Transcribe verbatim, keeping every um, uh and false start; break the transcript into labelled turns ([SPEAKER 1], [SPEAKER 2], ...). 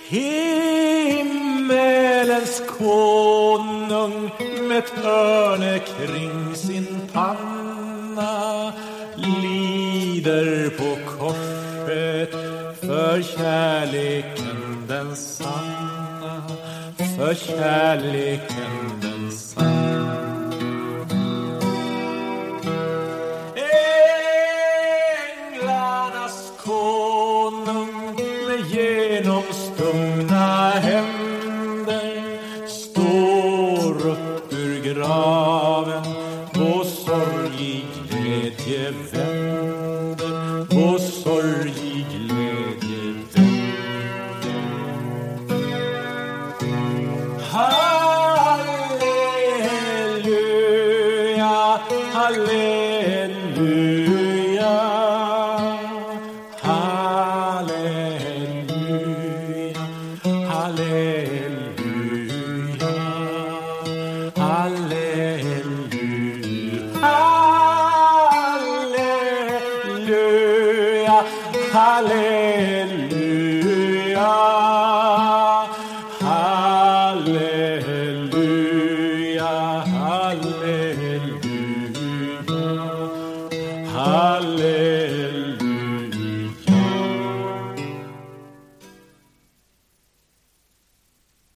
[SPEAKER 1] Himmelens konung med törne kring sin panna lider på korset för kärleken den sanna, för kärleken den sanna. Änglarnas konung med genomstungna händer står upp ur graven och sorgig glädje vänder, och sorgig glädje vänder. Halleluja, halleluja, halleluja, halleluja, halleluja, halleluja, halleluja, halleluja, halleluja, halleluja.